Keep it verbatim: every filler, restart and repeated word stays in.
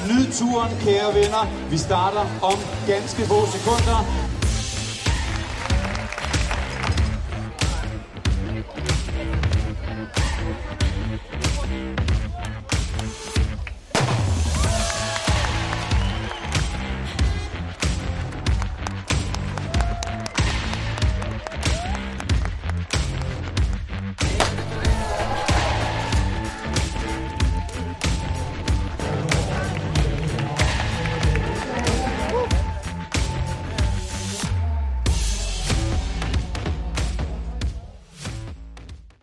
Nyd turen, kære venner. Vi starter om ganske få sekunder.